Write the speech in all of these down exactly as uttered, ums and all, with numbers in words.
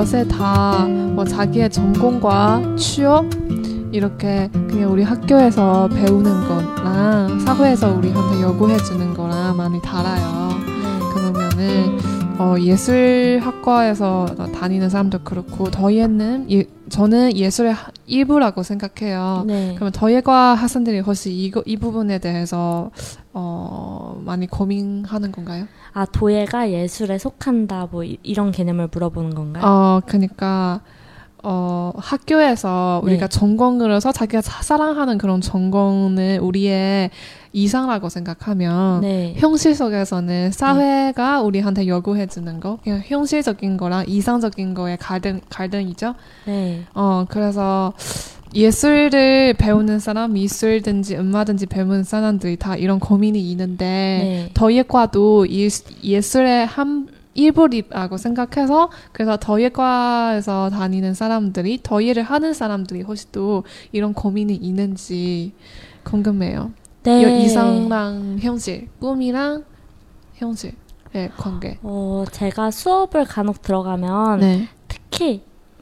셋 다 뭐 자기의 전공과 취업 이렇게 그냥 우리 학교에서 배우는 거랑 사회에서 우리한테 요구해주는 거랑 많이 달라요. 네. 그러면은 어, 예술학과에서 다니는 사람도 그렇고 더예는 예, 저는 예술의 일부라고 생각해요. 네. 그러면 더예과 학생들이 혹시 이거, 이 부분에 대해서 어, 많이 고민하는 건가요? 아, 도예가 예술에 속한다 뭐 이, 이런 개념을 물어보는 건가요? 어, 그러니까 어, 학교에서 네. 우리가 전공을 해서 자기가 사랑하는 그런 전공을 우리의 이상이라고 생각하면 네. 현실 속에서는 사회가 네. 우리한테 요구해주는 거 그냥 현실적인 거랑 이상적인 거의 갈등, 갈등이죠. 네. 어, 그래서 예술을 배우는 사람, 미술든지 음악든지 배우는 사람들이 다 이런 고민이 있는데 네. 더예과도 예술의 한 일부라고 생각해서 그래서 더예과에서 다니는 사람들이 더예를 하는 사람들이 혹시 또 이런 고민이 있는지 궁금해요. 네. 이상랑 현실, 꿈이랑 현실의 관계. 어, 제가 수업을 간혹 들어가면 네. 특히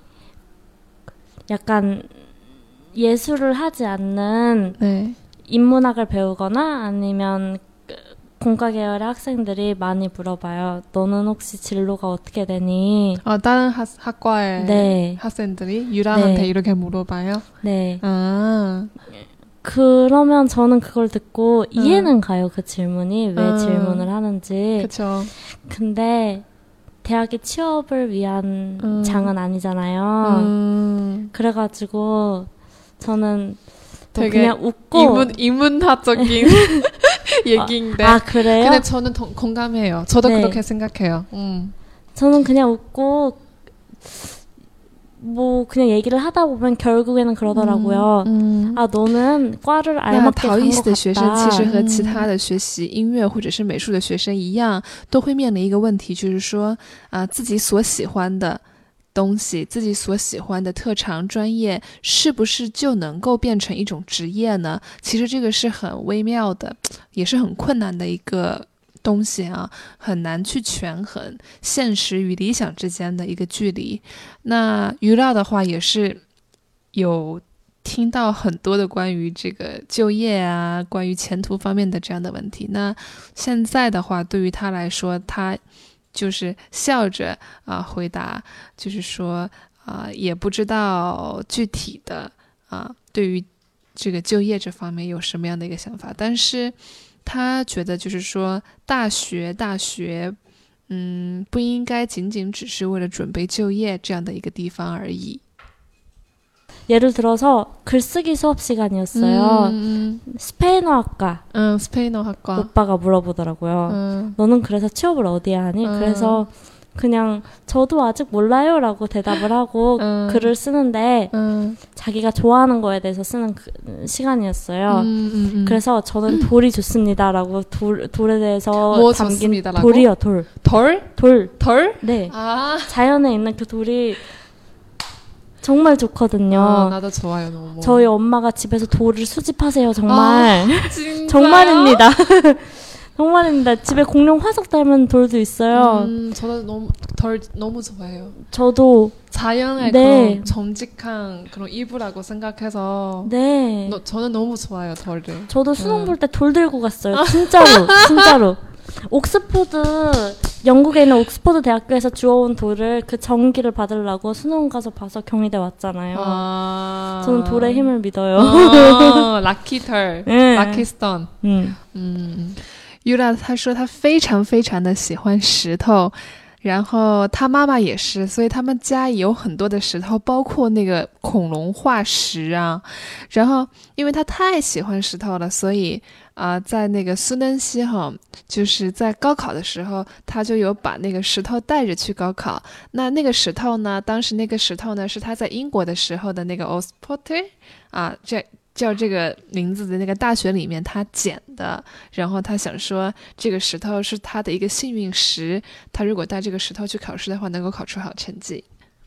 약간 예술을 하지 않는 네. 인문학을 배우거나 아니면 공과 계열의 학생들이 많이 물어봐요. 너는 혹시 진로가 어떻게 되니? 어, 다른 학, 학과의 네. 학생들이 유라한테 네. 이렇게 물어봐요? 네. 아. 그러면 저는 그걸 듣고 이해는 음. 가요. 그 질문이 왜 음. 질문을 하는지. 그쵸. 근데 대학이 취업을 위한 음. 장은 아니잖아요. 음. 그래가지고 저는 뭐 되게 그냥 웃고 인문, 인문학적인 얘기인데. 아, 그래요? 근데 저는 동, 공감해요. 저도 네. 그렇게 생각해요. 음. 저는 그냥 웃고 뭐 그냥 얘기를 하다 보면 결국에는 그러더라고요. 음, 음. 아, 너는 과를 那 알맞게 陶 간 艺 것 系的学生其实 같다. 和其他的学习音乐或者是美术的学生一样，都会面临一个问题，就是说啊、自己所喜欢的东西，自己所喜欢的特长专业，是不是就能够变成一种职业呢？其实这个是很微妙的，也是很困难的一个东西啊，很难去权衡现实与理想之间的一个距离。那娱乐的话也是有听到很多的关于这个就业啊，关于前途方面的这样的问题。那现在的话，对于他来说，他就是笑着啊、回答，就是说啊、也不知道具体的啊、对于这个就业这方面有什么样的一个想法，但是他觉得就是说大学大学嗯不应该仅仅只是为了准备就业这样的一个地方而已。 예를 들어서 글쓰기 수업 시간이었어요. 음, 스페인어학과 음, 스페인어학과. 오빠가 물어보더라고요. 음, 너는 그래서 취업을 어디에 하니? 음. 그래서 그냥 저도 아직 몰라요 라고 대답을 하고 음. 글을 쓰는데 음, 자기가 좋아하는 거에 대해서 쓰는 그, 시간이었어요. 음, 음, 음. 그래서 저는 돌이 좋습니다라고 돌, 돌에 대해서 뭐 담긴 좋습니다라고? 돌이요, 돌. 덜? 돌. 덜? 네. 아, 자연에 있는 그 돌이 정말 좋거든요. 아 나도 좋아요 너무. 저희 엄마가 집에서 돌을 수집하세요, 정말. 아, 진짜요? 정말입니다. 정말입니다. 집에 공룡 화석 닮은 돌도 있어요. 음, 저도 너무 덜 너무 좋아해요. 저도 자연의 네. 그런 정직한 그런 일부라고 생각해서 네. 너, 저는 너무 좋아요 덜을. 저도 수능 음. 볼 때 돌 들고 갔어요. 진짜로. 진짜로. 옥스포드 영국에 있는 옥스포드 대학교에서 주워온 돌을 그 정기를 받으려고 수능 가서 봐서 경희대 왔잖아요. 아, 저는 돌의 힘을 믿어요. 아, 럭키 털, 네. 럭키 스톤. 음. 嗯 ，Yura 她说她非常非常的喜欢石头，然后她妈妈也是，所以他们家有很多的石头，包括那个恐龙化石啊。然后因为她太喜欢石头了，所以啊、呃在那个苏南西哈，就是在高考的时候，她就有把那个石头带着去高考。那那个石头呢，当时那个石头呢是她在英国的时候的那个 Oxford 啊，这。叫这个名字的那个大学里面他捡的，然后他想说这个石头是他的一个幸运石，他如果带这个石头去考试的话能够考出好成绩。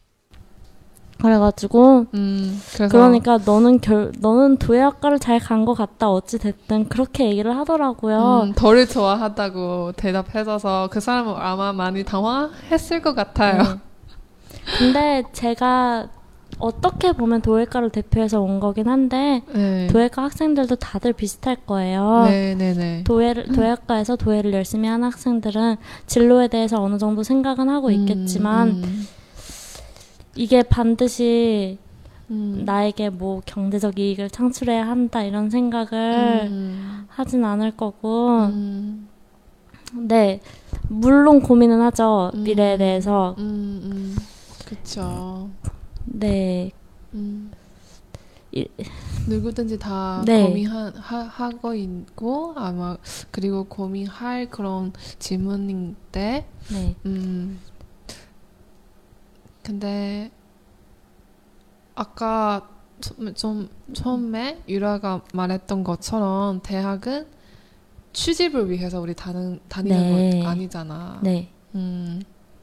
그래가지고 음, 그래서 그러니까 너는 결 너는 도예학과를 잘 간 것 같다 어찌 됐든 그렇게 얘기를 하더라고요. 음, 덜을 좋아하다고 대답해줘서 그 사람은 아마 많이 당황했을 것 같아요. 네. 근데 제가 어떻게 보면 도예과를 대표해서 온 거긴 한데 네. 도예과 학생들도 다들 비슷할 거예요. 네네네. 도예를, 도예과에서 도예를 열심히 하는 학생들은 진로에 대해서 어느 정도 생각은 하고 있겠지만 음, 음. 이게 반드시 음. 나에게 뭐 경제적 이익을 창출해야 한다 이런 생각을 음. 하진 않을 거고 음. 네 물론 고민은 하죠. 음. 미래에 대해서. 음, 음. 그쵸. 네. 음. 이, 누구든지 다 네. 고민하고 있고 아마 그리고 고민할 그런 질문인데 네. 음. 근데 아까 좀, 좀 처음에 유라가 말했던 것처럼 대학은 취직을 위해서 우리 다는, 다니는 네. 거 아니잖아. 네. 음.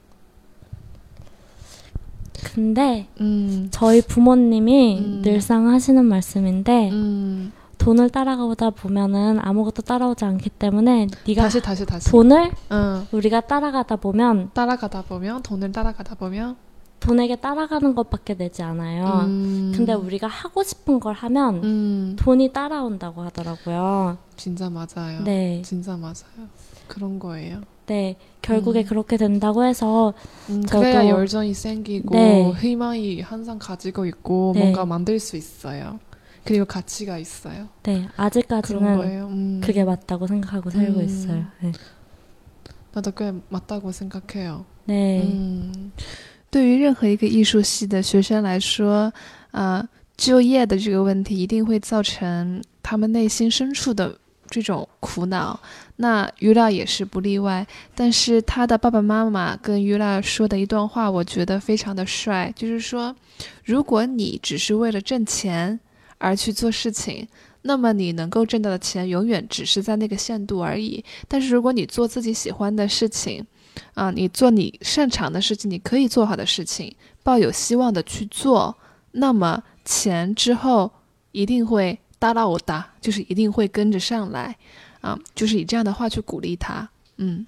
근데 음. 저희 부모님이 음. 늘상 하시는 말씀인데 음. 돈을 따라가다 보면은 아무것도 따라오지 않기 때문에 네가 다시 다시 다시 돈을 어. 우리가 따라가다 보면 따라가다 보면 돈을 따라가다 보면 돈에게 따라가는 것밖에 되지 않아요. 음. 근데 우리가 하고 싶은 걸 하면 음. 돈이 따라온다고 하더라고요. 진짜 맞아요. 네. 진짜 맞아요. 그런 거예요. 네. 결국에 음. 그렇게 된다고 해서 음, 저도- 그래야 열정이 생기고 네. 희망이 항상 가지고 있고 네. 뭔가 만들 수 있어요. 그리고 가치가 있어요. 네. 그런 아직까지는 거예요. 음. 그게 맞다고 생각하고 살고 음. 있어요. 네. 나도 꽤 맞다고 생각해요. 네. 음. 对于任何一个艺术系的学生来说，啊，就业的这个问题一定会造成他们内心深处的这种苦恼。那 Yura 也是不例外。但是他的爸爸妈妈跟 Yura 说的一段话，我觉得非常的帅，就是说，如果你只是为了挣钱而去做事情，那么你能够挣到的钱永远只是在那个限度而已。但是如果你做自己喜欢的事情，啊，你做你擅长的事情，你可以做好的事情，抱有希望的去做，那么钱之后一定会哒啦我哒，就是一定会跟着上来，啊，就是以这样的话去鼓励他，嗯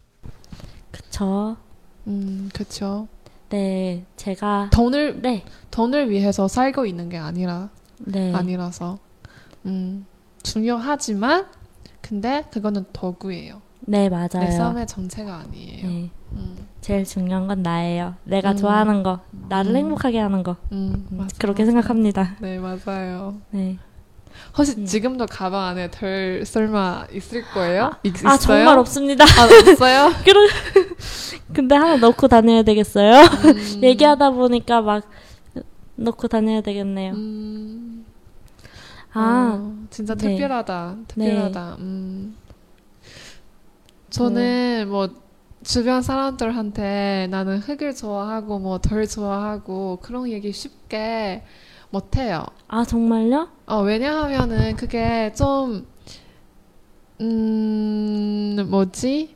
그쵸. 음, 그렇죠. 네. 제가 돈을 네. 돈을 위해서 살고 있는 게 아니라 네. 아니라서, 음, 중요하지만 근데 그거는 도구예요. 네, 내 맞아요. 삶의 전체가 아니에요. 네. 음, 제일 중요한 건 나예요. 내가 음. 좋아하는 거, 나를 음. 행복하게 하는 거. 음, 음, 맞아, 그렇게 맞아요. 생각합니다. 네, 맞아요. 네. 혹시 음. 지금도 가방 안에 덜 설마 있을 거예요? 있, 아, 있어요? 정말 없습니다. 아, 없어요? 그런 근데 하나 넣고 다녀야 되겠어요. 음, 얘기하다 보니까 막 넣고 다녀야 되겠네요. 음, 아, 어, 진짜 네. 특별하다. 특별하다. 음. 저는 뭐 주변 사람들한테 나는 흙을 좋아하고 뭐 덜 좋아하고 그런 얘기 쉽게 못해요. 아 정말요? 어, 왜냐하면은 그게 좀, 음, 뭐지?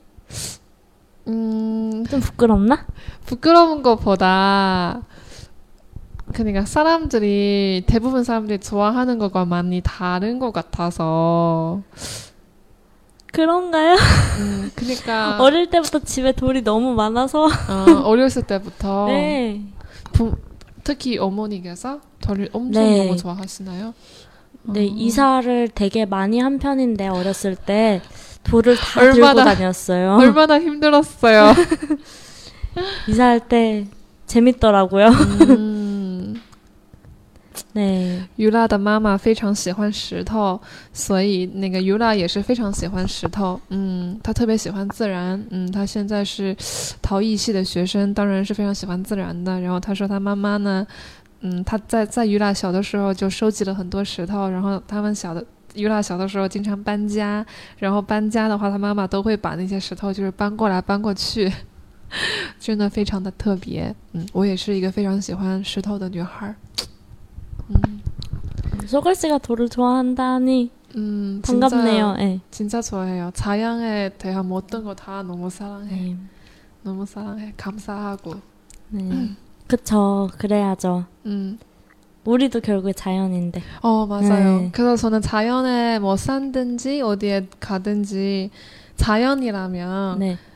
음, 좀 부끄럽나? 부끄러운 것보다, 그러니까 사람들이, 대부분 사람들이 좋아하는 것과 많이 다른 것 같아서, 그런가요? 음, 그러니까, 어릴 때부터 집에 돌이 너무 많아서. 어, 어렸을 때부터, 네. 부, 특히 어머니께서 저를 엄청 네. 너무 좋아하시나요? 네, 어. 이사를 되게 많이 한 편인데 어렸을 때 돌을 다 얼마나- 들고 다녔어요. 얼마나 힘들었어요. 이사할 때 재밌더라고요. 음. 对 Yura 的妈妈非常喜欢石头，所以那个 Yura 也是非常喜欢石头。嗯，她特别喜欢自然。嗯，她现在是陶艺系的学生，当然是非常喜欢自然的。然后她说她妈妈呢，嗯，她在在 Yura 小的时候就收集了很多石头，然后他们小的 Yura 小的时候经常搬家，然后搬家的话，她妈妈都会把那些石头就是搬过来搬过去，真的非常的特别。嗯，我也是一个非常喜欢石头的女孩。嗯。 소걸 씨가 돌을 좋아한다니 음, 반갑네요. 진짜, 네. 진짜 좋아해요. 자연에 대한 모든 거 다 너무 사랑해. 네. 너무 사랑해. 감사하고. 네. 그쵸. 그래야죠. 음. 우리도 결국에 자연인데. 어, 맞아요. 네. 그래서 저는 자연에 뭐 산든지 어디에 가든지 자연이라면 네.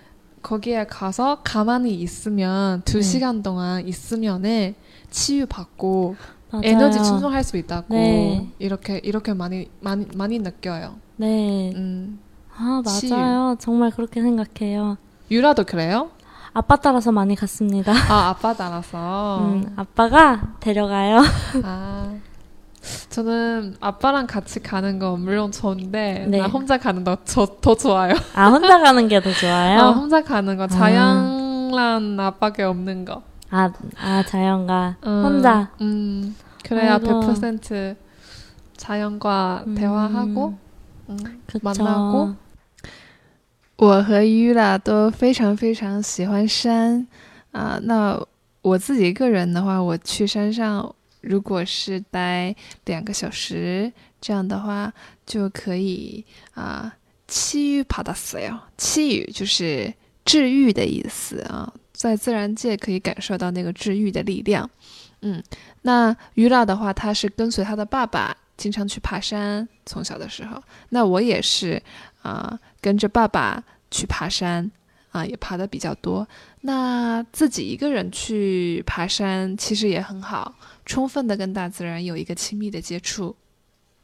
거기에 가서 가만히 있으면 두 네. 시간 동안 있으면은 치유받고 맞아요. 에너지 충전할 수 있다고 네. 이렇게 이렇게 많이 많이 많이 느껴요. 네. 음. 아, 치유. 맞아요. 정말 그렇게 생각해요. 유라도 그래요? 아빠 따라서 많이 갔습니다. 아, 아빠 따라서. 음, 아빠가 데려가요. 아. 저는 아빠랑 같이 가는 거 물론 좋은데 네. 나 혼자 가는 거 더 좋아요. 아, 혼자 가는 게 더 좋아요? 아, 혼자 가는 거 자연랑 나밖에 없는 거. 아, 아, 자연과 음, 혼자. 음, 그래야 아이고. 백 퍼센트 자연과 음, 대화하고 음, 그쵸. 만나고.我和 Yura 都非常非常喜欢山啊、那我自己个人的话，我去山上如果是待两个小时，这样的话就可以啊，치유받았어요。치유就是治愈的意思啊，在自然界可以感受到那个治愈的力量。嗯，那 Yura 的话，他是跟随他的爸爸经常去爬山，从小的时候。那我也是啊、跟着爸爸去爬山啊、也爬的比较多。那自己一个人去爬山其实也很好，充分的跟大自然有一个亲密的接触。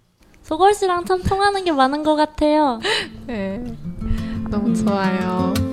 소걸 씨랑 참 통하는 게 많은 것 같아요. 네, 너무 좋아요.